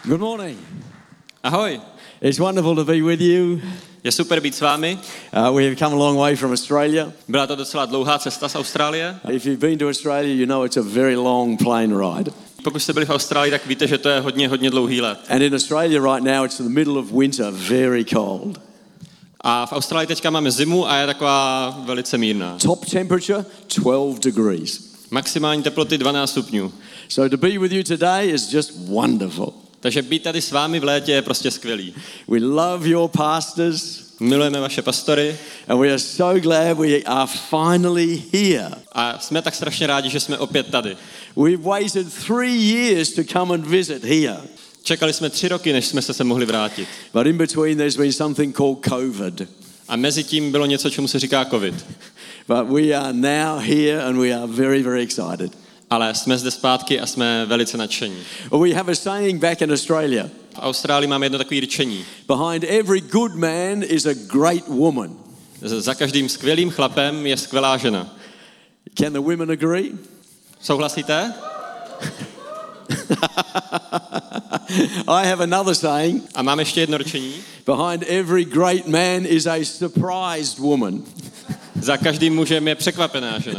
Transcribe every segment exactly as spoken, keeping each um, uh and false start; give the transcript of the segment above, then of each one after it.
Good morning. Ahoj. It's wonderful to be with you. Je super být s vámi. Uh, we have come a long way from Australia. Byla to docela dlouhá cesta z Austrálie. If you've been to Australia, you know it's a very long plane ride. Pokud jste byli v Austrálii, tak víte, že to je hodně, hodně dlouhý let. And in Australia right now, it's in the middle of winter, very cold. A v Austrálii teďka máme zimu a je taková velice mírná. Top temperature, twelve degrees. Maximální teploty dvanáct stupňů. So to be with you today is just wonderful. Takže být tady s vámi v létě je prostě skvělý. We love your pastors. Milujeme vaše pastory. And we are so glad we are finally here. A jsme tak strašně rádi, že jsme opět tady. We've waited three years to come and visit here. Čekali jsme tři roky, než jsme se sem mohli vrátit. But in between there's been something called COVID. A mezi tím bylo něco, čemu se říká covid. But we are now here and we are very, very excited. Ale jsme zde zpátky a jsme velice nadšení. We have a saying back in Australia. V Austrálii máme jedno takové rčení. Behind every good man is a great woman. Za každým skvělým chlapem je skvělá žena. Can the women agree? Souhlasíte? I have another saying. A mám ještě jedno rčení. Behind every great man is a surprised woman. Za každým mužem je překvapená žena.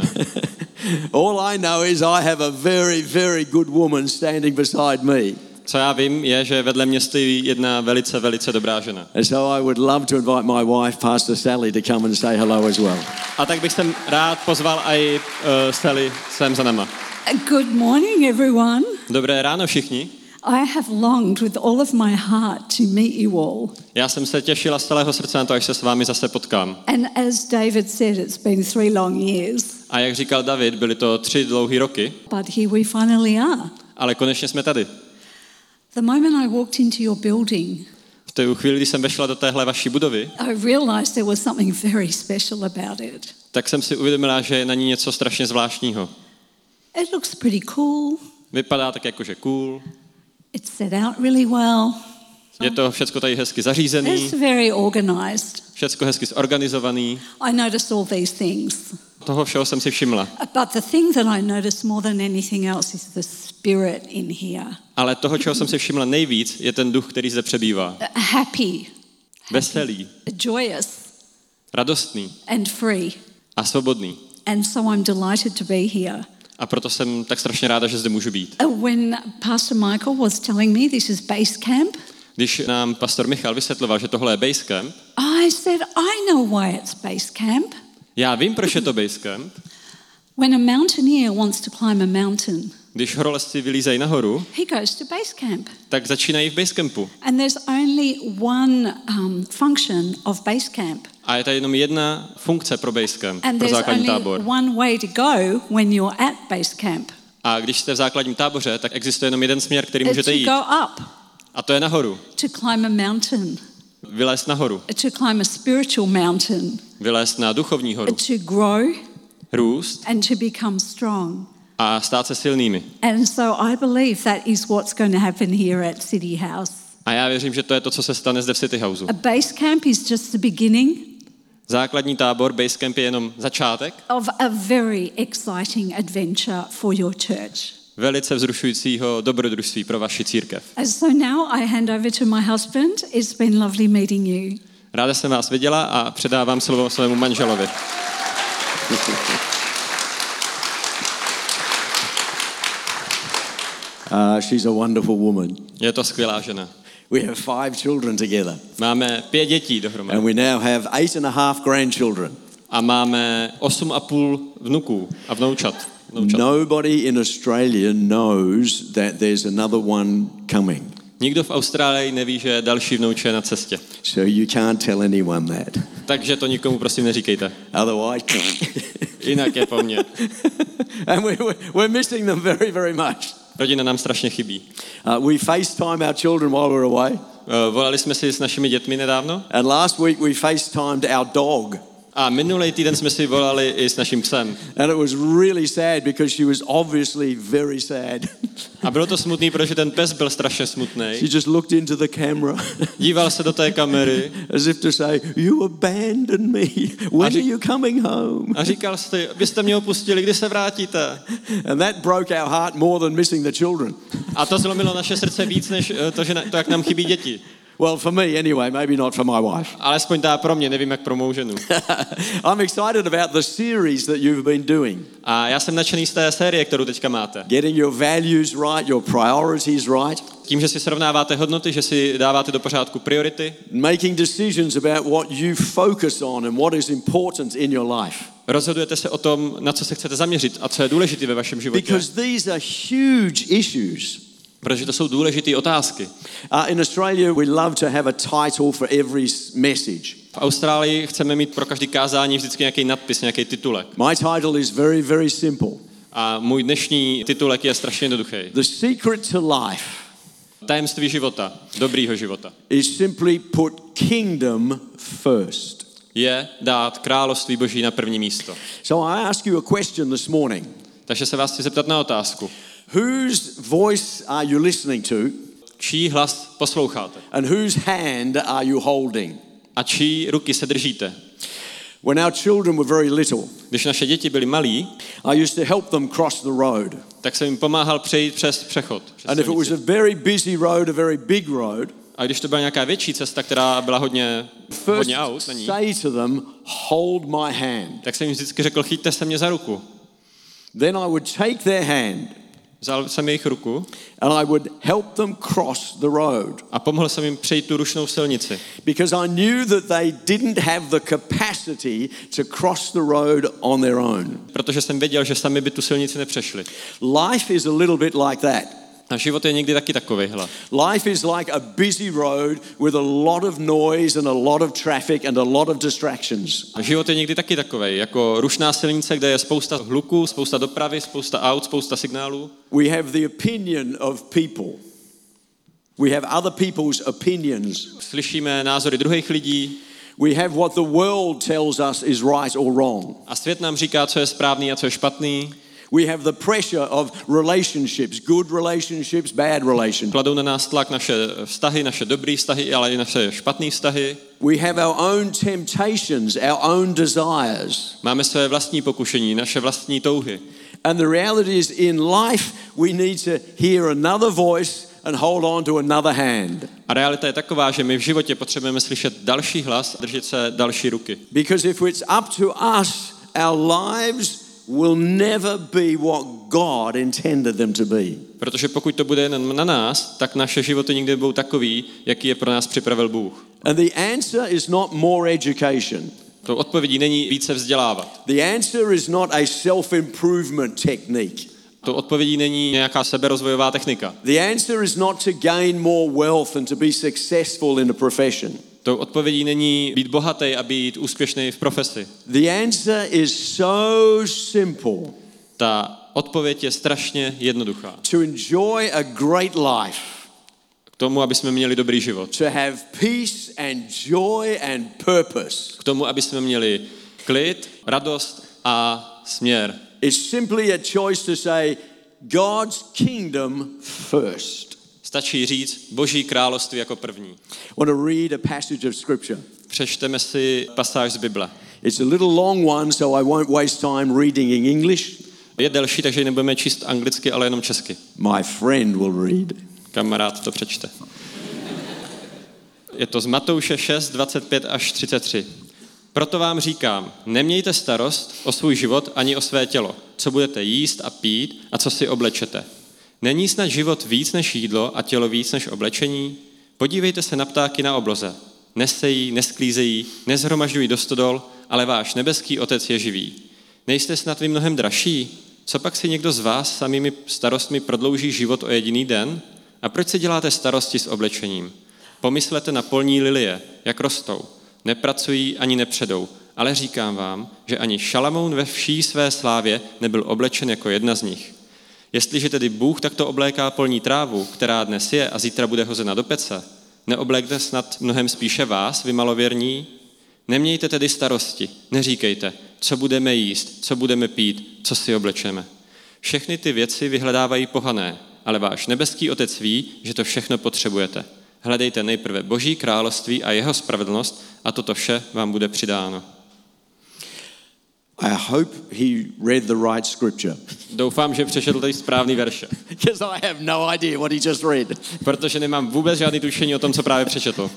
All I know is I have a very, very good woman standing beside me. Co já vím, je, že vedle mě stojí jedna velice, velice dobrá žena. And so I would love to invite my wife, Pastor Sally, to come and say hello as well. A tak bych jsem rád pozval i uh, Sally sem za náma. Good morning, everyone. Dobré ráno všichni. I have longed with all of my heart to meet you all. Já jsem se těšila z celého srdce na to, až se s vámi zase potkám. And as David said, it's been three long years. A jak říkal David, byly to tři dlouhé roky. But here we finally are. Ale konečně jsme tady. The moment I walked into your building, V té chvíli, kdy jsem vešla do téhle vaší budovy, I realized there was something very special about it. tak jsem si uvědomila, že je na ní něco strašně zvláštního. It looks pretty cool. Vypadá tak jakože cool. It's set out really well. Je to všecko tady hezky zařízený, It's very organized. všecko hezky zorganizovaný. I noticed all these things. Toho všeho jsem si všimla. But the thing that I noticed more than anything else is the spirit in here. Ale toho, čeho jsem si všimla nejvíc, je ten duch, který zde přebývá. Happy, Veselý, joyous, radostný and free. a svobodný. And so I'm delighted to be here. A proto jsem tak strašně ráda, že zde můžu být. Uh, When Pastor Michael was telling me this is base camp, Když nám pastor Michal vysvětloval, že tohle je base camp, I said, I know why it's base camp. já vím, proč je to base camp. When a mountaineer wants to climb a mountain, Když horolezci vylízají nahoru, he goes to base camp. tak začínají v base campu. And there's only one um, function of base camp. A je tady jenom jedna funkce pro base camp, And pro there's základní only tábor. one way to go when you're at base camp. A když jste v základním táboře, tak existuje jenom jeden směr, který It's můžete to jít. go up, A to je nahoru. to climb a mountain, Vylézt nahoru. to climb a spiritual mountain, Vylézt na duchovní horu. to grow Růst and to become strong. a stát se silnými. And so I believe that is what's going to happen here at City House. A já věřím, že to je to, co se stane zde v City Houseu. A base camp is just the beginning Základní tábor, base camp je jenom začátek of a very exciting adventure for your church. velice vzrušujícího dobrodružství pro vaši církev. And so now I hand over to my husband. It's been lovely meeting you. Ráda jsem vás viděla a předávám slovo svému manželovi. Uh, she's a wonderful woman. Je to skvělá žena. We have five children together. Máme pět dětí dohromady. And we now have eight and a half grandchildren. A máme osm a půl vnuků a vnoučat. vnoučat. Nobody in Australia knows that there's another one coming. Nikdo v Austrálii neví, že další vnouče je na cestě. So you can't tell anyone that. Takže to nikomu prosím neříkejte. Otherwise, Jinak je po mně. and we, we're missing them very, very much. Rodina nám strašně chybí. Uh, we FaceTime our children while we're away. Uh, volali jsme si s našimi dětmi nedávno And last week we FaceTimed our dog. A minulý týden jsme si volali i s naším psem. And it was really sad because she was obviously very sad. A bylo to smutný, protože ten pes byl strašně smutný. She just looked into the camera. Díval se do té kamery. As if to say, you abandoned me. When are you coming home? A říkal jste, byste mě opustili, kdy se vrátíte? And that broke our heart more than missing the children. A to zlomilo naše srdce víc, než to, že na, to, jak nám chybí děti. Well, for me anyway, maybe not for my wife. Alespoň tá pro mě, nevím jak pro mou ženu. I'm excited about the series that you've been doing. A já jsem nadšený z té série, kterou teďka máte. Getting your values right, your priorities right. Tím, že si srovnáváte hodnoty, že si dáváte do pořádku priority. Making decisions about what you focus on and what is important in your life. Rozhodujete se o tom, na co se chcete zaměřit a co je důležité ve vašem životě. Because these are huge issues. Protože to jsou důležité otázky. Uh, in Australia, we love to have a title for every message. V Austrálii chceme mít pro každý kázání vždycky nějaký nadpis, nějaký titulek. My title is very, very simple. A můj dnešní titulek je strašně jednoduchý. The secret to life Tajemství života, dobrýho života, is simply put kingdom first. je dát království Boží na první místo. So I ask you a question this morning. Takže se vás chci zeptat na otázku. Whose voice are you listening to? Čí hlas posloucháte? And whose hand are you holding? A čí ruky se držíte? When our children were very little, Když naše děti byly malí, I used to help them cross the road. tak jsem jim pomáhal přejít přes přechod. Přes And if it was silnici. a very busy road, a very big road, A když to byla nějaká větší cesta, která byla hodně, first hodně aut na ní, say to them, hold my hand. tak jsem jim vždycky řekl, chyťte se mě za ruku. Then I would take their hand Vzal jsem jejich ruku and I would help them cross the road. a pomohl jsem jim přejít tu rušnou silnici. Because I knew that they didn't have the capacity to cross the road on their own. Protože jsem věděl, že sami by tu silnici nepřešli. Life is a little bit like that. A život je někdy taky takovejhle. Life is like a busy road with a lot of noise and a lot of traffic and a lot of distractions. A život je někdy taky takovej, jako rušná silnice, kde je spousta hluku, spousta dopravy, spousta aut, spousta signálů. We have the opinion of people. We have other people's opinions. Slyšíme názory druhých lidí We have what the world tells us is right or wrong. a svět nám říká, co je správný a co je špatný. We have the pressure of relationships, good relationships, bad relationships. Kladou na nás tlak naše vztahy, naše dobré vztahy, ale i naše špatné vztahy. We have our own temptations, our own desires. Máme své vlastní pokušení, naše vlastní touhy. And the reality is in life we need to hear another voice and hold on to another hand. A realita je taková, že my v životě potřebujeme slyšet další hlas a držet se další ruky. Because if it's up to us, our lives will never be what God intended them to be. Protože pokud to bude jen na nás, tak naše životy nikdy budou takový, jaký je pro nás připravil Bůh. And the answer is not more education. To odpovědí není více vzdělávat. The answer is not a self-improvement technique. To odpovědí není nějaká seberozvojová technika. The answer is not to gain more wealth and to be successful in a profession. To odpovědí není být bohatý a být úspěšný v profesi. The answer is so simple. Ta odpověď je strašně jednoduchá. To enjoy a great life. K tomu, aby jsme měli dobrý život. To have peace and joy and purpose. K tomu, aby jsme měli klid, radost a směr. It's simply a choice to say God's kingdom first. Stačí říct Boží království jako první. I want to read a passage of scripture. Přečteme si pasáž z Bible. It's a little long one, so I won't waste time reading in English. Je delší, takže ji nebudeme číst anglicky, ale jenom česky. My friend will read. Kamarád to přečte. Je to z Matouše šest, dvacet pět až třicet tři. Proto vám říkám, nemějte starost o svůj život ani o své tělo, co budete jíst a pít a co si oblečete. Není snad život víc než jídlo a tělo víc než oblečení? Podívejte se na ptáky na obloze. Nesejí, nesklízejí, nezhromažďují do stodol, ale váš nebeský otec je živý. Nejste snad vy mnohem dražší? Co pak si někdo z vás samými starostmi prodlouží život o jediný den? A proč si děláte starosti s oblečením? Pomyslete na polní lilie, jak rostou. Nepracují ani nepředou, ale říkám vám, že ani Šalamoun ve vší své slávě nebyl oblečen jako jedna z nich. Jestliže tedy Bůh takto obléká polní trávu, která dnes je a zítra bude hozena do pece, neoblékne snad mnohem spíše vás, vy malověrní? Nemějte tedy starosti, neříkejte, co budeme jíst, co budeme pít, co si oblečeme. Všechny ty věci vyhledávají pohané, ale váš nebeský Otec ví, že to všechno potřebujete. Hledejte nejprve Boží království a jeho spravedlnost a toto vše vám bude přidáno. I hope he read the right scripture. Doufám, že přečetl tady správný verše. Because I have no idea what he just read. Protože nemám vůbec žádný tušení o tom, co právě přečetl.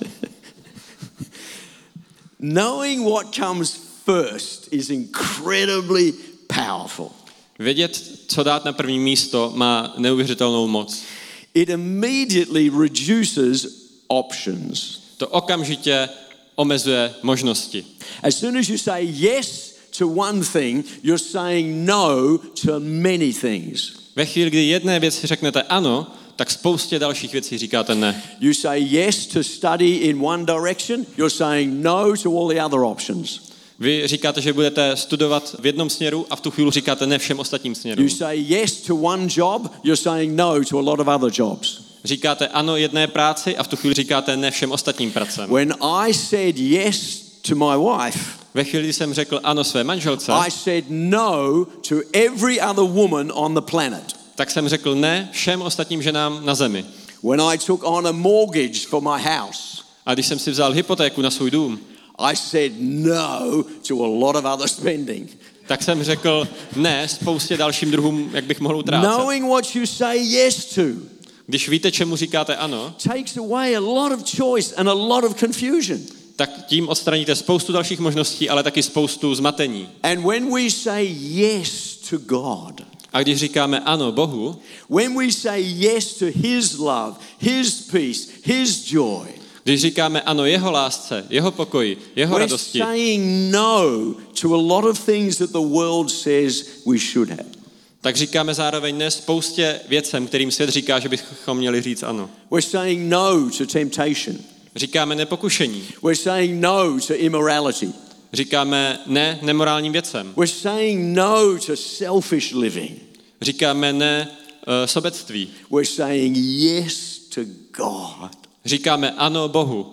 Knowing what comes first is incredibly powerful. Vědět, co dát na první místo, má neuvěřitelnou moc. It immediately reduces options. To okamžitě omezuje možnosti. As soon as you say yes to one thing, you're saying no to many things. Ve chvíli, kdy jedné věci řeknete ano, tak spoustě dalších věcí říkáte ne. You say yes to study in one direction, you're saying no to all the other options. Vy říkáte, že budete studovat v jednom směru a v tu chvíli říkáte ne všem ostatním směrům. You say yes to one job, you're saying no to a lot of other jobs. Říkáte ano jedné práci a v tu chvíli říkáte ne všem ostatním pracem. When I said yes to my wife, ve chvíli, kdy jsem řekl ano své manželce, I said no to every other woman on the planet. Tak jsem řekl ne všem ostatním ženám na zemi. When I took on a mortgage for my house, a když jsem si vzal hypotéku na svůj dům, I said no to a lot of other spending. Tak jsem řekl ne spoustě dalším druhům, jak bych mohl utrácet. Knowing what you say yes to, když víte, čemu říkáte ano, takes away a lot of choice and a lot of confusion. Tak tím odstraníte spoustu dalších možností, ale taky spoustu zmatení. And when we say yes to God, a když říkáme ano Bohu, when we say yes to his love, his peace, his joy, když říkáme ano jeho lásce, jeho pokoji, jeho we're radosti, saying no to a lot of things that the world says we should have. Tak říkáme zároveň ne spoustě věcem, kterým svět říká, že bychom měli říct ano. We're saying no to temptation. Říkáme ne pokušení. We're saying no to immorality. Říkáme ne nemorálním věcem. We're saying no to selfish living. Říkáme ne uh, sobectví. We're saying yes to God. Říkáme ano Bohu.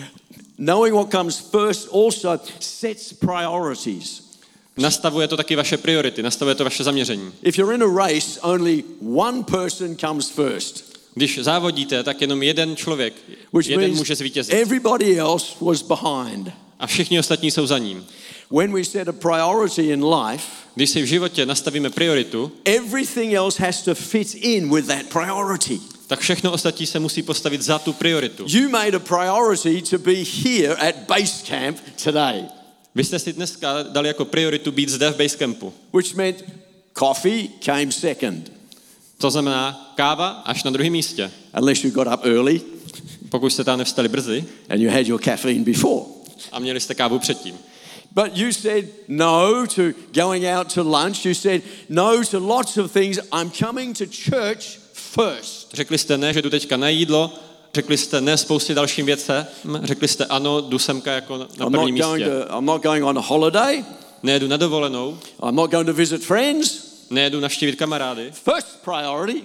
Knowing what comes first also sets priorities. Nastavuje to taky vaše priority, nastavuje to vaše zaměření. If you're in a race, only one person comes first. Když závodíte, tak jenom jeden člověk, Which jeden může zvítězit. Everybody else was behind. A všichni ostatní jsou za ním. When we set a priority in life, když si v životě nastavíme prioritu, everything else has to fit in with that priority. Tak všechno ostatní se musí postavit za tu prioritu. You made a priority to be here at base camp today. Vy jste si dneska dali jako prioritu být zde v base campu. Which meant coffee came second. To znamená káva až na druhém místě. Unless you got up early. Pokud jste tam nevstali brzy. And you had your caffeine before. A měli jste kávu předtím. But you said no to going out to lunch. You said no to lots of things. I'm coming to church first. Řekli jste ne, že jdu teďka na jídlo. Řekli jste ne spoustě dalším věcem. Řekli jste ano, jdu semka jako na prvním místě. To, I'm not going on a holiday. Nejedu na dovolenou. I'm not going to visit friends. Nejedu navštívit kamarády. First priority.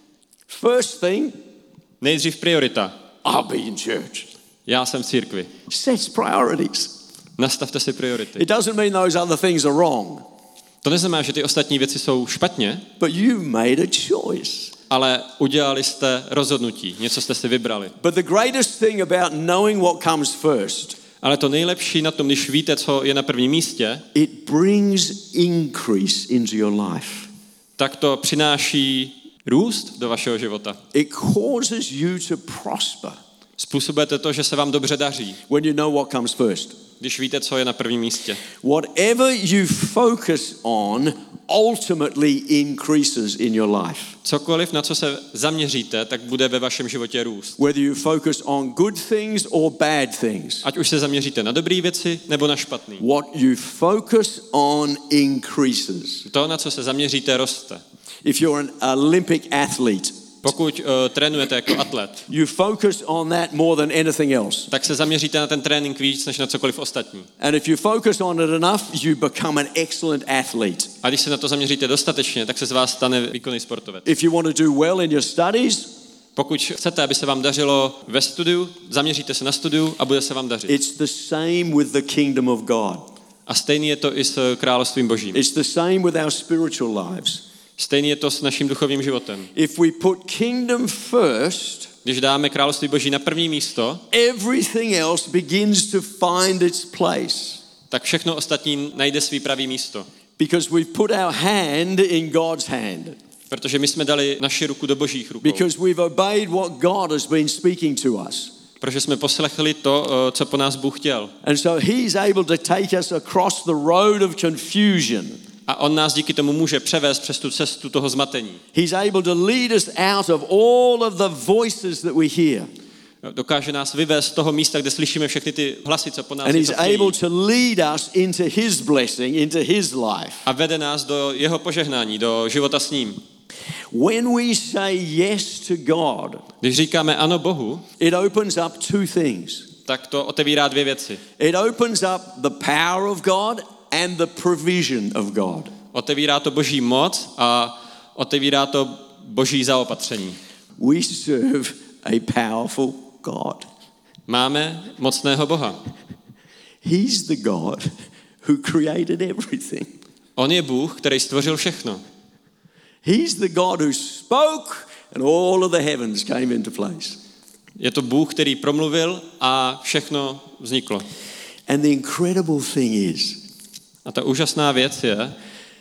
First thing. Nejdřív priorita. I'll be in church. Já jsem v církvi. Sets priorities. Nastavte si priority. It doesn't mean those other things are wrong. To neznamená, že ty ostatní věci jsou špatně. But you made a choice. Ale udělali jste rozhodnutí, něco jste si vybrali. But the greatest thing about knowing what comes first, ale to nejlepší na tom, když víte, co je na prvním místě, it brings increase into your life. Tak to přináší růst do vašeho života. It causes you to prosper. Způsobujete to, že se vám dobře daří. When you know what comes first. Když víte, co je na prvním místě. Whatever you focus on ultimately increases in your life. Cokoliv, na co se zaměříte, tak bude ve vašem životě růst. Whether you focus on good things or bad things. Ať už se zaměříte na dobré věci nebo na špatné. What you focus on increases. To, na co se zaměříte, roste. If you're an Olympic athlete, pokud uh, trénujete jako atlet, you focus on that more than anything else. Tak se zaměříte na ten trénink víc než na cokoliv ostatní. And if you focus on it enough, you become an excellent athlete. A když se na to zaměříte dostatečně, tak se z vás stane výkonný sportovec. If you want to do well in your studies, Pokud chcete, aby se vám dařilo ve studiu, zaměříte se na studiu a bude se vám dařit. It's the same with the kingdom of God. A stejný je to i s královstvím Božím. It's the same with our spiritual lives. Stejný je to s naším duchovním životem. If we put kingdom first, Když dáme království Boží na první místo, everything else begins to find its place. tak všechno ostatní najde svý pravý místo. Because we've put our hand in God's hand. Protože my jsme dali naši ruku do Božích rukou. Because we've obeyed what God has been speaking to us. Protože jsme poslechli to, co po nás Bůh chtěl. And so he's able to take us across the road of confusion. A on nás díky tomu může převést přes tu cestu toho zmatení. He's able to lead us out of all of the voices that we hear. Dokáže nás vyvést z toho místa, kde slyšíme všechny ty hlasy, co po nás And he's něco chtějí. able to lead us into his blessing, into his life. A vede nás do jeho požehnání, do života s ním. When we say yes to God, Když říkáme ano Bohu, it opens up two things. tak to otevírá dvě věci. It opens up the power of God and the provision of God. Otevírá to Boží moc a otevírá to Boží zaopatření. We serve a powerful God. Máme mocného Boha. He's the God who created everything. On je Bůh, který stvořil všechno. He's the God who spoke and all of the heavens came into place. Je to Bůh, který promluvil a všechno vzniklo. And the incredible thing is A ta úžasná věc je,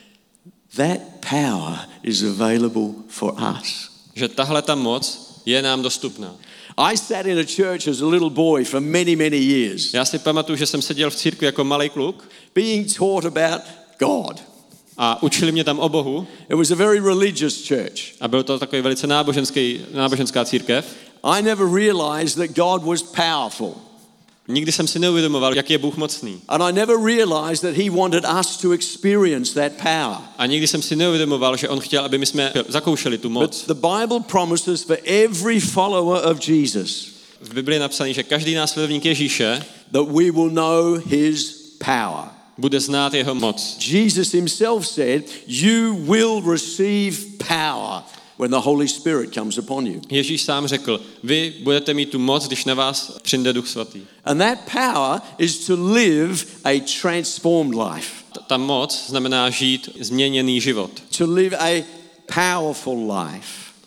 that power is available for us. že tahle ta moc je nám dostupná. I sat in a church as a little boy for many, many years, Já si pamatuju, že jsem seděl v církvi jako malý kluk being taught about God. a učili mě tam o Bohu It was a very religious church. a byl to takový velice náboženský, náboženská církev. I never realized that God was powerful. Nikdy jsem si neuvědomoval, jak je Bůh mocný. And I never realized that he wanted us to experience that power. A nikdy jsem si neuvědomoval, že on chtěl, aby my jsme zakoušeli tu moc. But the Bible promises for every follower of Jesus V Biblii je napsané, že každý následovník Ježíše that we will know his power. bude znát jeho moc. Jesus himself said, you will receive power when the Holy Spirit comes upon you. Ježíš sám řekl, vy budete mít tu moc, když na vás přijde Duch Svatý. And that power is to live a transformed life. Ta, ta moc znamená žít změněný život. To live a powerful life.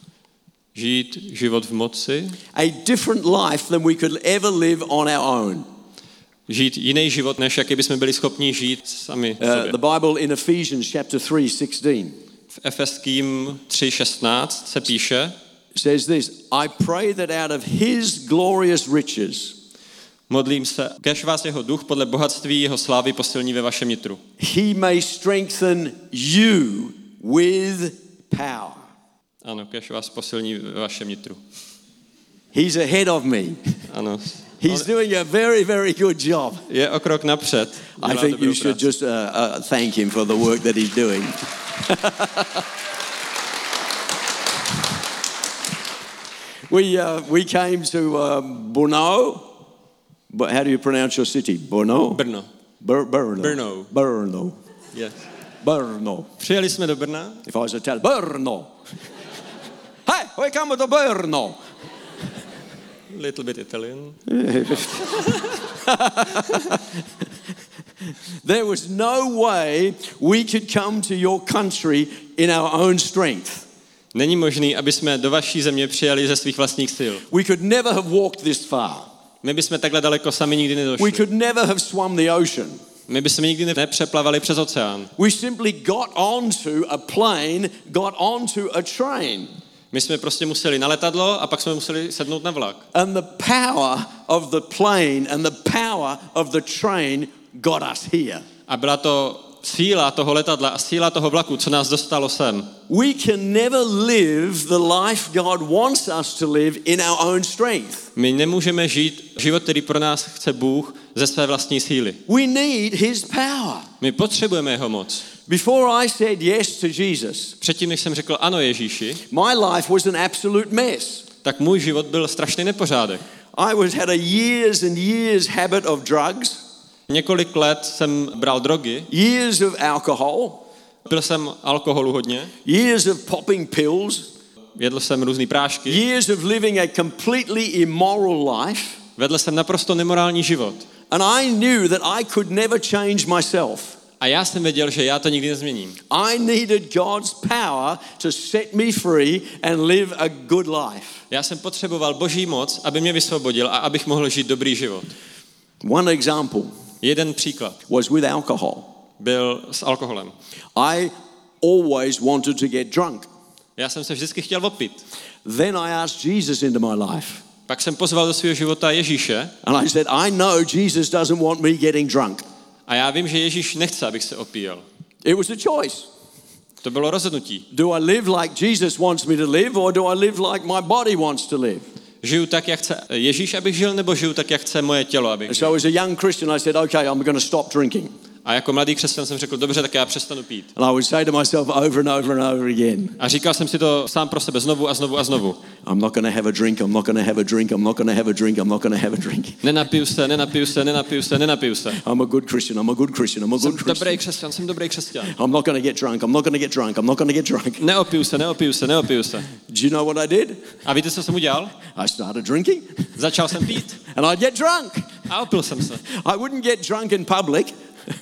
Žít život v moci. A different life than we could ever live on our own. Žít jiný život, než jaký bychom byli schopni žít sami Uh, sobě. the Bible in Ephesians chapter three sixteen V Efeským tři šestnáct se píše, says this, I pray that out of his glorious riches modlím se, kež vás jeho duch podle bohatství jeho slávy posilní ve vašem nitru. he may strengthen you with power. Ano, kež vás posilní ve vašem nitru. He's ahead of me. Ano. He's On doing a very, very good job. je o krok napřed. I Dělá think dobrou you should práci. just uh, uh, thank him for the work that he's doing. we, uh, we came to uh, Brno. But how do you pronounce your city? Brno? Brno. Bur- Brno. Brno. Brno. Yes. Brno. Přijeli jsme do Brna. If I was Italian, Brno. Hey, we come to Brno. Little bit Italian. There was no way we could come to your country in our own strength. Není možný, aby jsme do vaší země přijeli ze svých vlastních sil. We could never have walked this far. My bychom takhle daleko sami nikdy We nedošli. could never have swum the ocean. My bychom nikdy nepřeplavali přes oceán. We simply got onto a plane, got onto a train. My jsme prostě museli na letadlo a pak jsme museli sednout na vlak. And the power of the plane and the power of the train got us here. A byla to síla toho letadla a síla toho vlaku, co nás dostalo sem. We can never live the life God wants us to live in our own strength. My nemůžeme žít život, který pro nás chce Bůh ze své vlastní síly. We need his power. My potřebujeme jeho moc. Before I said yes to Jesus, Předtím, než jsem řekl ano Ježíši, my life was an absolute mess. tak můj život byl strašný nepořádek. I was had a years and years habit of drugs, Několik let jsem bral drogy, years of alcohol, pil jsem alkoholu hodně, years of popping pills, jedl jsem různý prášky, years of living a completely immoral life, vedl jsem naprosto nemorální život. and I knew that I could never change myself. A já jsem věděl, že já to nikdy nezměním. I needed God's power to set me free and live a good life. Já jsem potřeboval Boží moc, aby mě vysvobodil a abych mohl žít dobrý život. One example Jeden příklad was with alcohol. byl s alkoholem. I always wanted to get drunk. Já jsem se vždycky chtěl opít. Then I asked Jesus into my life. Pak jsem pozval do svého života Ježíše And I said, I know Jesus doesn't want me getting drunk. a já vím, že Ježíš nechce, abych se opíjel. It was a choice. To bylo rozhodnutí. Do I live like Jesus wants me to live, or do I live like my body wants to live? Žiju tak, jak chce Ježíš, abych žil, nebo žiju tak, jak chce moje tělo, abych And žil. so as a young Christian, I said, okay, I'm going to stop drinking. A jako mladý křesťan jsem řekl, dobře, tak já přestanu pít. And I would say to myself over and over and over again, A říkal jsem si to sám pro sebe znovu a znovu a znovu. I'm not going to have a drink, I'm not going to have a drink, I'm not going to have a drink, I'm not going to have a drink. Nenapiju se, nenapiju se, nenapiju se, nenapiju se. I'm a good Christian, I'm a good Christian, I'm a Jsem good Christian. dobrý křesťan, jsem dobrý křesťan. I'm not going to get drunk, I'm not going to get drunk, I'm not going to get drunk. Neopiju se, neopiju se, neopiju se. Do you know what I did? A víte, co jsem udělal? I started drinking Začal jsem pít and I'd get drunk. a opil jsem se. I wouldn't get drunk in public,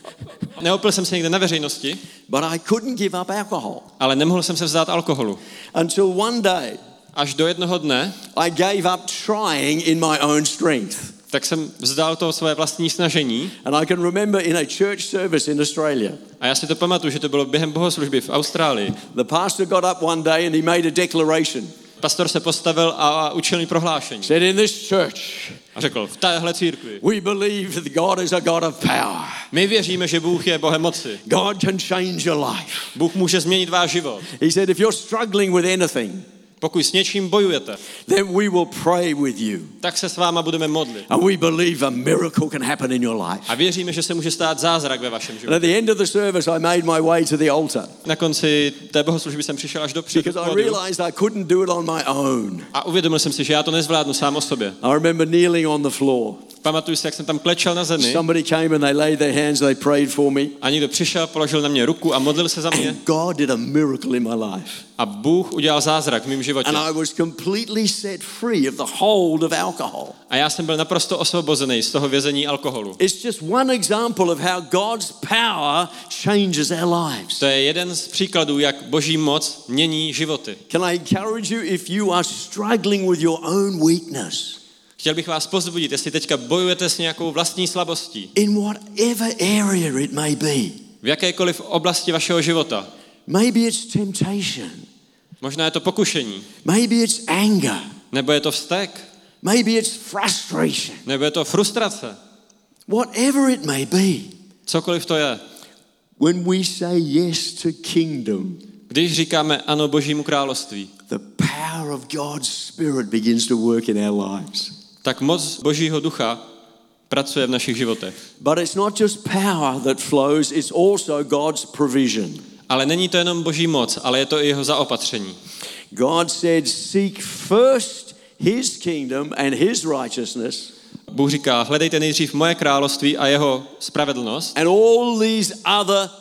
Neopil jsem se někde na veřejnosti, but I couldn't give up alcohol. ale nemohl jsem se vzdát alkoholu. Until one day, Až do jednoho dne, I gave up trying in my own strength. tak jsem vzdal to své vlastní snažení. And I can remember in a church service in Australia, A já si to pamatuju, že to bylo během bohoslužby v Austrálii. the pastor got up one day and he made a declaration. Pastor se postavil a učil mi prohlášení. Said, in this church, A řekl, v téhle církvi we believe that God is a God of power. my věříme, že Bůh je Bohem moci. God can change your life. Bůh může změnit váš život. He said, if you're struggling with anything, Pokud s něčím bojujete, then we will pray with you. tak se s váma budeme modlit. And we believe a miracle can happen in your life. A věříme, že se může stát zázrak ve vašem And životě. at the end of the service, I made my way to the altar Na konci té bohoslužby jsem přišel až do před because I pódium realized I couldn't do it on my own. a uvědomil jsem si, že já to nezvládnu sám o sobě. I remember kneeling on the floor. Pamatuju si, jak jsem tam klečel na zemi Somebody came and they laid their hands, they prayed for me. a někdo přišel, položil na mě ruku a modlil se za mě. And God did a miracle in my life. A Bůh udělal zázrak v mém životě. And I was completely set free of the hold of alcohol. A já jsem byl naprosto osvobozený z toho vězení alkoholu. It's just one example of how God's power changes our lives. To je jeden z příkladů, jak Boží moc mění životy. Can I encourage you, if you are struggling with your own weakness, Chtěl bych vás pozbudit, jestli teďka bojujete s nějakou vlastní slabostí, in whatever area it may be, v jakékoliv oblasti vašeho života, maybe it's temptation, možná je to pokušení, maybe it's anger, nebo je to vztek, maybe it's frustration, nebo je to frustrace, whatever it may be, cokoliv to je. when we say yes to kingdom, Když říkáme ano Božímu království, the power of God's Spirit begins to work in our lives. tak moc Božího ducha pracuje v našich životech. But it's not just power that flows, it's also God's provision. Ale není to jenom Boží moc, ale je to i jeho zaopatření. God said, seek first his kingdom and his righteousness, Bůh říká, hledejte nejdřív moje království a jeho spravedlnost and all these other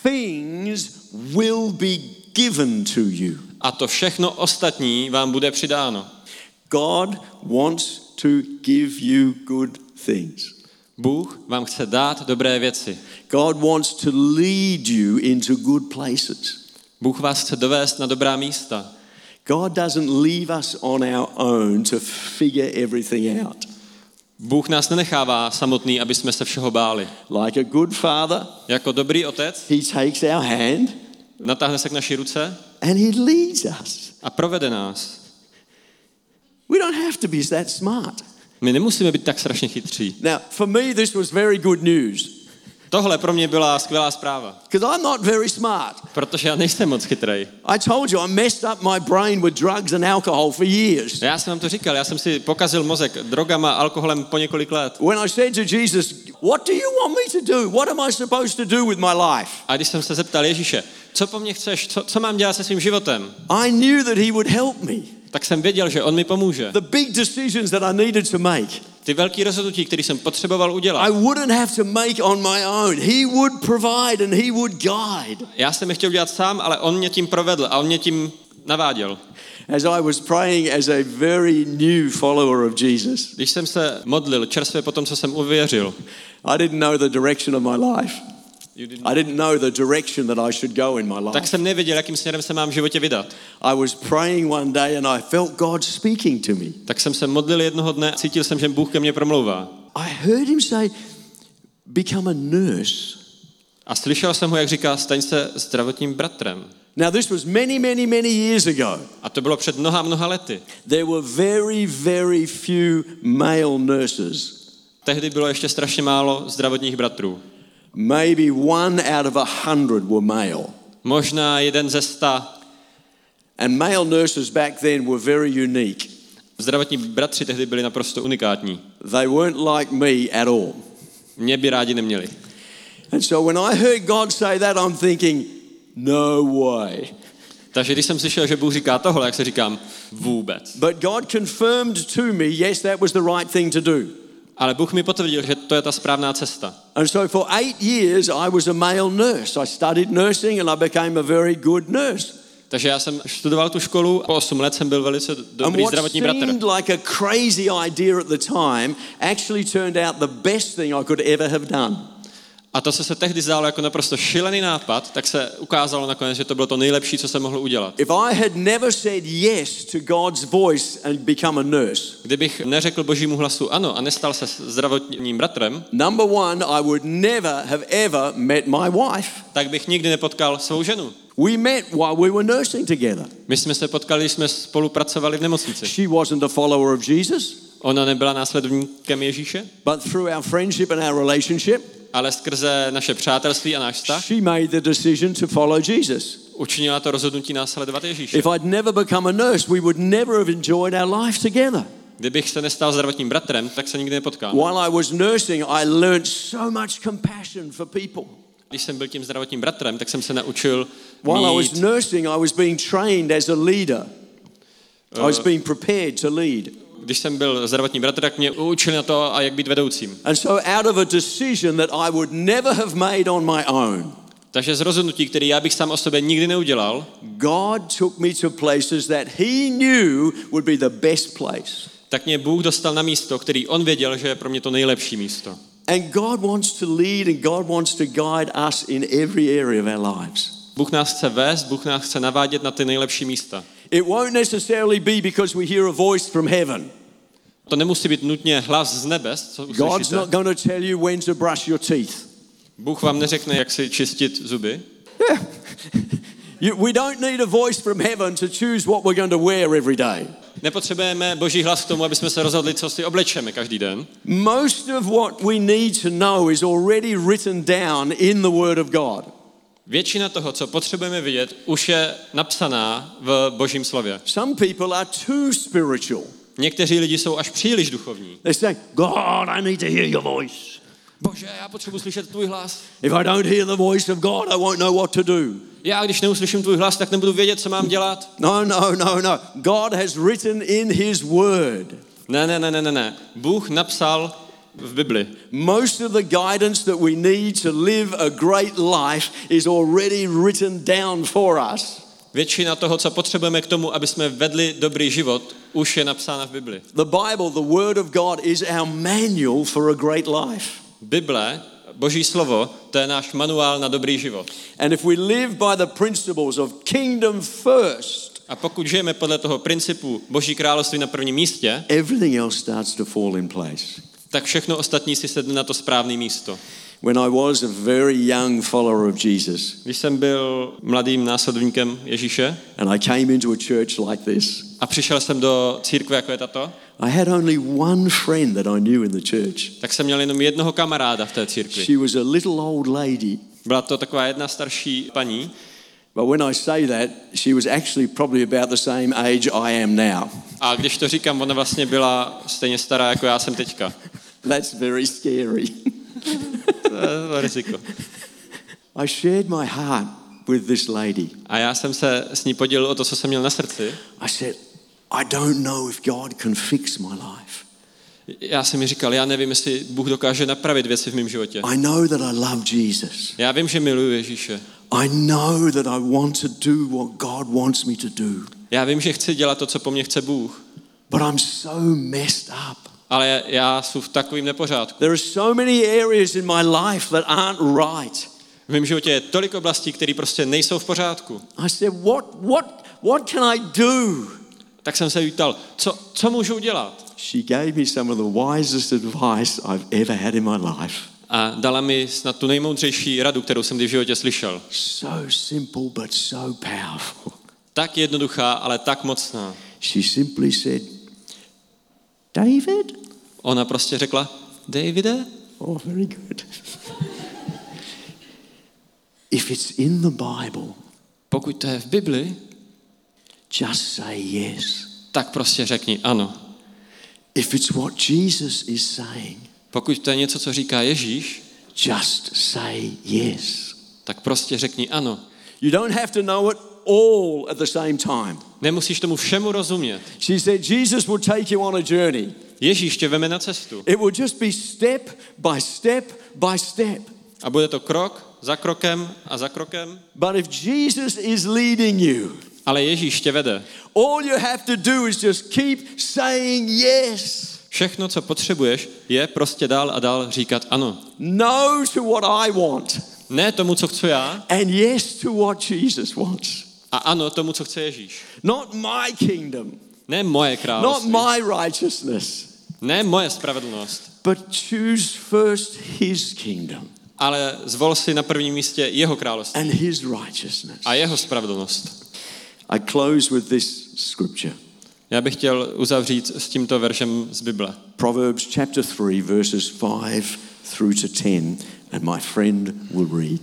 things will be given to you. a to všechno ostatní vám bude přidáno. God wants to give you good things. Bůh vám chce dát dobré věci. God wants to lead you into good places. Bůh vás chce dovést na dobrá místa. God doesn't leave us on our own to figure everything out. Bůh nás nenechává samotný, aby jsme se všeho báli. Like a good father, Jako dobrý otec he takes our hand natáhne se k naší ruce and he leads us. a provede nás. We don't have to be that smart. My nemusíme být tak strašně chytří. Now, for me, this was very good news Tohle pro mě byla skvělá zpráva, because I'm not very smart. protože já nejsem moc chytrej. I told you I messed up my brain with drugs and alcohol for years. Já jsem vám to říkal, já jsem si pokazil mozek drogama, alkoholem po několik let. When I said to Jesus, what do you want me to do? What am I supposed to do with my life? A když jsem se zeptal Ježíše, co po mně chceš, co, co mám dělat se svým životem, I knew that he would help me. tak jsem věděl, že on mi pomůže. The big decisions that I needed to make, Ty velký rozhodnutí, které jsem potřeboval udělat, I wouldn't have to make on my own. He would provide and he would guide. já jsem je chtěl udělat sám, ale on mě tím provedl a on mě tím naváděl. As I was praying as a very new follower of Jesus, Když jsem se modlil čerstvě po tom, co jsem uvěřil, I didn't know the direction of my life. I didn't know the direction that I should go in my life. tak jsem nevěděl, jakým směrem se mám v životě vydat. I was praying one day and I felt God speaking to me. Tak jsem se modlil jednoho dne a cítil jsem, že Bůh ke mně promlouvá. I heard him say, become a nurse. A slyšel jsem ho, jak říká, staň se zdravotním bratrem. Now this was many, many, many years ago. A to bylo před mnoha, mnoha lety. There were very, very few male nurses. Tehdy bylo ještě strašně málo zdravotních bratrů. Maybe one out of a hundred were male. Možná jeden ze sta. And male nurses back then were very unique. Zdravotní bratři tehdy byli naprosto unikátní. They weren't like me at all. Mě by rádi neměli. And so when I heard God say that, I'm thinking, no way. Takže když jsem slyšel, že Bůh říká tohle, jak se říkám, vůbec. But God confirmed to me, yes, that was the right thing to do. Ale Bůh mi potvrdil, že to je ta správná cesta. And so for eight years, I was a male nurse. I studied nursing and I became a very good nurse. Takže já jsem studoval tu školu, po osm let jsem byl velice dobrý zdravotní bratr. And what seemed like a crazy idea at the time actually turned out the best thing I could ever have done. A to, co se tehdy zdálo jako naprosto šílený nápad, tak se ukázalo nakonec, že to bylo to nejlepší, co jsem mohl udělat. If I had never said yes to God's voice and become a nurse, Kdybych neřekl Božímu hlasu ano a nestal se zdravotním bratrem, number one, I would never have ever met my wife. tak bych nikdy nepotkal svou ženu. We met while we were nursing together. My jsme se potkali, když jsme spolupracovali v nemocnici. She wasn't a follower of Jesus, Ona nebyla následovníkem Ježíše, but through our friendship and our relationship, ale skrze naše přátelství a náš vztah she made the decision to follow Jesus. učinila to rozhodnutí následovat Ježíše. If I'd never become a nurse, we would never have enjoyed our life together. Kdybych se nestal zdravotním bratrem, tak se nikdy nepotkáme. While I was nursing, I learned so much compassion for people. Když jsem byl tím zdravotním bratrem, tak jsem se naučil While I was mít, nursing, I was being trained as a leader. I was being prepared to lead. když jsem byl zdravotní bratr, tak mě učili na to, a jak být vedoucím. And so out of a decision that I would never have made on my own, Takže z rozhodnutí, který já bych sám o sobě nikdy neudělal, God took me to places that he knew would be the best place. tak mě Bůh dostal na místo, který on věděl, že je pro mě to nejlepší místo. And God wants to lead and God wants to guide us in every area of our lives. Bůh nás chce vést, Bůh nás chce navádět na ty nejlepší místa. It won't necessarily be because we hear a voice from heaven. To nemusí být nutně hlas z nebes, co God's uslyšíte. not going to tell you when to brush your teeth. Bůh vám neřekne, jak si čistit zuby. Yeah. You, we don't need a voice from heaven to choose what we're going to wear every day. Nepotřebujeme Boží hlas k tomu, aby jsme se rozhodli, co si oblečeme každý den. Most of what we need to know is already written down in the Word of God. Většina toho, co potřebujeme vidět, už je napsaná v Božím slově. Some people are too spiritual. Někteří lidi jsou až příliš duchovní. They say, God, I need to hear your voice. Bože, já potřebuji slyšet tvůj hlas. If I don't hear the voice of God, I won't know what to do. Já, když neuslyším tvůj hlas, tak nebudu vědět, co mám dělat. No, no, no, no. God has written in his word. Ne, ne, ne, ne, ne, ne. Bůh napsal v Bibli. Most of the guidance that we need to live a great life is already written down for us. Většina toho, co potřebujeme k tomu, aby jsme vedli dobrý život, už je napsána v Bibli. The Bible, the Word of God, is our manual for a great life. Bible, Boží slovo, to je náš manuál na dobrý život. And if we live by the principles of kingdom first, A pokud žijeme podle toho principu Boží království na prvním místě, everything else starts to fall in place. tak všechno ostatní si sedne na to správné místo. When I was a very young follower of Jesus, Když jsem byl mladým následovníkem Ježíše and I came into a church like this, a přišel jsem do církve, jako je tato, I had only one friend that I knew in the church. tak jsem měl jenom jednoho kamaráda v té církvi. She was a little old lady. Byla to taková jedna starší paní, But when I say that, she was actually probably about the same age I am now. a když to říkám, ona vlastně byla stejně stará, jako já jsem teďka. That's very scary. To je to riziko. I shared my heart with this lady. A já jsem se s ní podělil o to, co jsem měl na srdci. I said, I don't know if God can fix my life. Já jsem mi říkal, já nevím, jestli Bůh dokáže napravit věci v mém životě. I know that I love Jesus. Já vím, že miluji Ježíše. I know that I want to do what God wants me to do. Já vím, že chci dělat to, co po mně chce Bůh, But I'm so messed up. ale já jsem v takovým nepořádku. There are so many areas in my life that aren't right. V mém životě je tolik oblastí, které prostě nejsou v pořádku. I said, what, what, what can I do? Tak jsem se jí ptal, co, co můžu udělat? She gave me some of the wisest advice I've ever had in my life. A dala mi snad tu nejmoudřejší radu, kterou jsem kdy v životě slyšel. So simple but so powerful. Tak jednoduchá, ale tak mocná. She simply said, David? Ona prostě řekla, Davide? Oh, very good. If it's in the Bible, Pokud to je v Bibli, just say yes. tak prostě řekni ano. If it's what Jesus is saying, Pokud to je něco, co říká Ježíš, just say yes. tak prostě řekni ano. You don't have to know it all at the same time. Nemusíš tomu všemu rozumět. She said, Jesus will take you on a journey. Ježíš tě veme na cestu. It will just be step by step by step. A bude to krok za krokem a za krokem. But if Jesus is leading you, Ale Ježíš tě vede. all you have to do is just keep saying yes. Všechno, co potřebuješ, je prostě dál a dál říkat ano. No to what I want. Ne tomu, co chci já, And yes to what Jesus wants. a ano tomu, co chce Ježíš. Not my kingdom. Ne moje Not království. my righteousness. Ne moje spravedlnost. But choose first his kingdom Ale zvol si na prvním místě jeho království and his righteousness. a jeho spravedlnost. I close with this scripture. Já bych chtěl uzavřít s tímto veršem z Bible. Proverbs chapter three verses five through to ten, and my friend will read.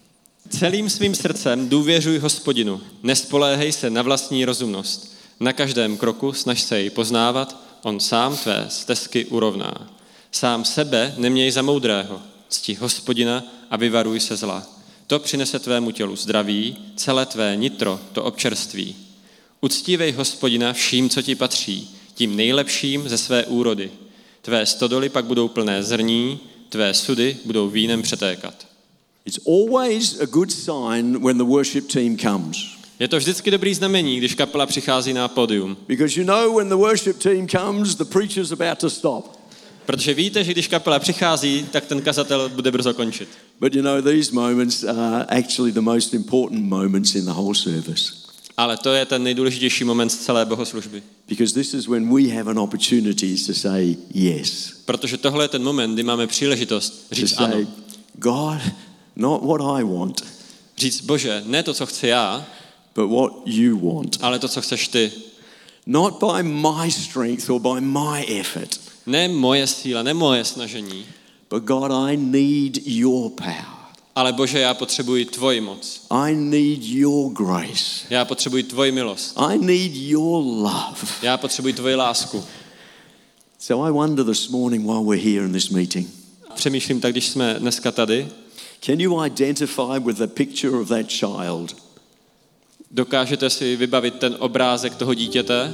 Celým svým srdcem důvěřuj Hospodinu, nespoléhej se na vlastní rozumnost. Na každém kroku snaž se jej poznávat, on sám tvé stezky urovná. Sám sebe neměj za moudrého, cti Hospodina a vyvaruj se zla. To přinese tvému tělu zdraví, celé tvé nitro to občerství. Uctívej Hospodina vším, co ti patří, tím nejlepším ze své úrody. Tvé stodoly pak budou plné zrní, tvé sudy budou vínem přetékat. It's always a good sign when the worship team comes. Je to vždycky dobrý znamení, když kapela přichází na pódium. Because you know when the worship team comes, the preacher's about to stop. Protože víte, že když kapela přichází, tak ten kazatel bude brzo končit. But you know, these moments are actually the most important moments in the whole service. Ale to je ten nejdůležitější moment z celé bohoslužby. Because this is when we have an opportunity to say yes. Protože tohle je ten moment, kdy máme příležitost To říct say, ano. God, not what I want, Říct, Bože, ne to, co chci já, but what you want. ale to, co chceš ty. Not by my strength or by my effort, Ne moje síla, ne moje snažení, but God, I need your power. ale Bože, já potřebuji tvoji moc. I need your grace. Já potřebuji tvoji milost. I need your love. Já potřebuji tvoji lásku. So I wonder this morning while we're here in this meeting, Přemýšlím tak, když jsme dneska tady, can you identify with the picture of that child? dokážete si vybavit ten obrázek toho dítěte?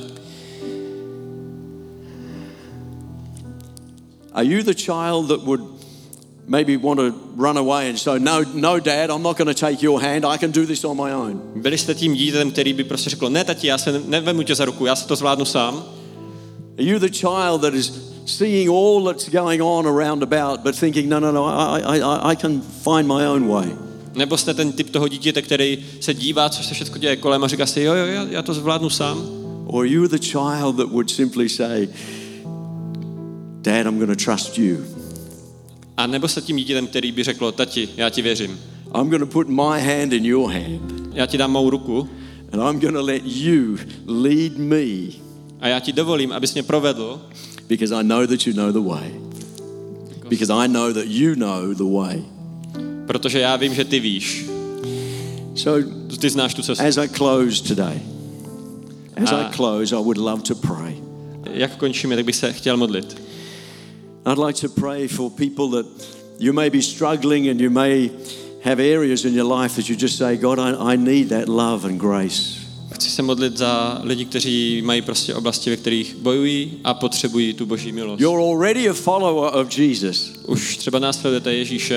Are you the child that would maybe want to run away and say, no, no, Dad, I'm not going to take your hand. I can do this on my own. Byli jste tím dítětem, který by prostě řekl, ne tati, já se nevemu tě za ruku, já se to zvládnu sám? Are you the child that is seeing all that's going on around about, but thinking, no, no, no, I, I, I, I can find my own way? Nebo jste ten typ toho dítěte, který se dívá, co se všechno děje kolem a říká si, jo, jo, já, já to zvládnu sám? Or are you the child that would simply say, Dad, I'm going to trust you. A nebo jste tím dítětem, který by řekl, tati, já ti věřím. I'm going to put my hand in your hand, Já ti dám mou ruku and I'm going to let you lead me, a já ti dovolím, abys mě provedl, because I know that you know the way. Because I know that you know the way. protože já vím, že ty víš. So Ty znáš tu cestu. as I close today, as Ah. I close, I would love to pray. Jak končíme, tak bych se chtěl modlit. I'd like to pray for people that you may be struggling and you may have areas in your life that you just say, God, I, I need that love and grace. Chci se modlit za lidi, kteří mají prostě oblasti, ve kterých bojují a potřebují tu boží milost. You're already a follower of Jesus, Už třeba následujete Ježíše,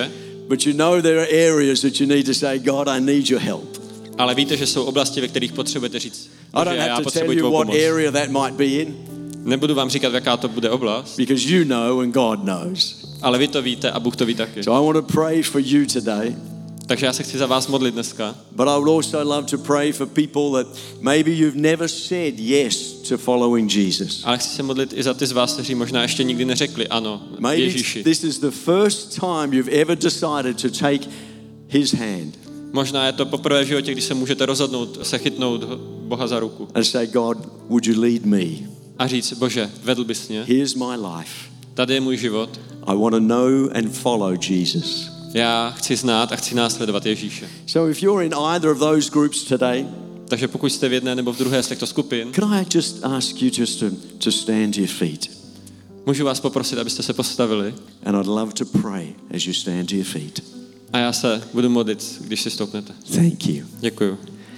But you know there are areas that you need to say, God, I need your help. Ale víte, že jsou oblasti, ve kterých potřebujete říct, I že don't já have to tell potřebuji you tvou what pomoc. area that might be in, Nebudu vám říkat, jaká to bude oblast, because you know and God knows. ale vy to víte a Bůh to ví taky. So I want to pray for you today. Takže já se chci za vás modlit dneska. But I would also love to pray for people that maybe you've never said yes to following Jesus. Ale chci se modlit i za ty z vás, kteří možná ještě nikdy neřekli ano Maybe Ježíši. this is the first time you've ever decided to take his hand Možná je to poprvé v životě, když se můžete rozhodnout se chytnout Boha za ruku and say, God, would you lead me? a říct, Bože, vedl bys mě, Here's my life. tady je můj život, I want to know and follow Jesus. já chci znát a chci následovat Ježíše. So if you're in either of those groups today, Takže pokud jste v jedné nebo v druhé z těchto skupin, can I just ask you just to, to stand to your feet? můžu vás poprosit, abyste se postavili And I'd love to pray as you stand to your feet. a já se budu modlit, když si stoupnete. Thank you. Děkuju.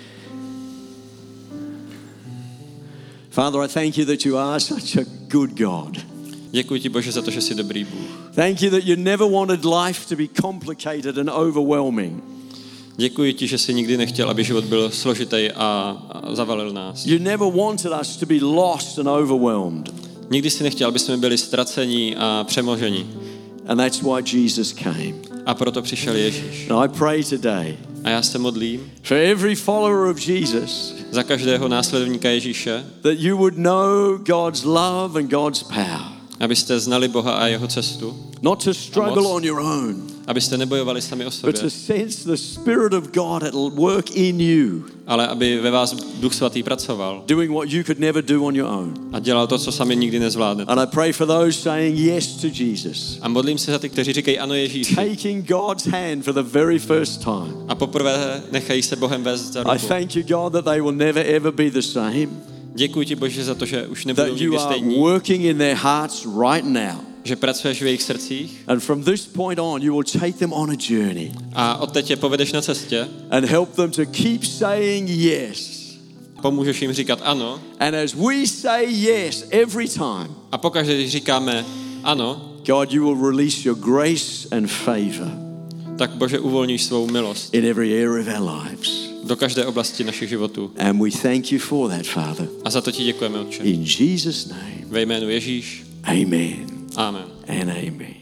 Father, I thank you that you are such a good God. Děkuji ti, Bože, za to, že jsi dobrý Bůh. Thank you that you never wanted life to be complicated and overwhelming. Děkuji ti, že jsi nikdy nechtěl, aby život byl složitý a, a zavalil nás. You never wanted us to be lost and overwhelmed. Nikdy jsi nechtěl, aby jsme byli ztracení a přemožení. And that's why Jesus came. A proto přišel Ježíš. And I pray today A já se modlím for every follower of Jesus za každého následovníka Ježíše, that you would know God's love and God's power. abyste znali Boha a jeho cestu, Not to struggle on your own, abyste nebojovali sami o but sobě, to sense the Spirit of God at work in you, ale aby ve vás Duch Svatý pracoval doing what you could never do on your own. a dělal to, co sami nikdy nezvládnete. And I pray for those saying yes to Jesus, A modlím se za ty, kteří říkají ano Ježíši taking God's hand for the very first time. a poprvé nechají se Bohem vést za I ruku. thank you, God, that they will never ever be the same, Děkuji ti, Bože, za to, že už nebudou that you nikdy are stejní, working in their hearts right now. že pracuješ v jejich srdcích And from this point on, you will take them on a journey a odteď je povedeš na cestě, and help them to keep saying yes. pomůžeš jim říkat ano And as we say yes every time, a pokaždé, když říkáme ano, God, you will release your grace and favor tak Bože uvolníš svou milost in every area of our lives. do každé oblasti našich životů. And we thank you for that, Father. A za to ti děkujeme, Otče. In Jesus' name, Ve jménu Ježíš. amen Amen. and amen.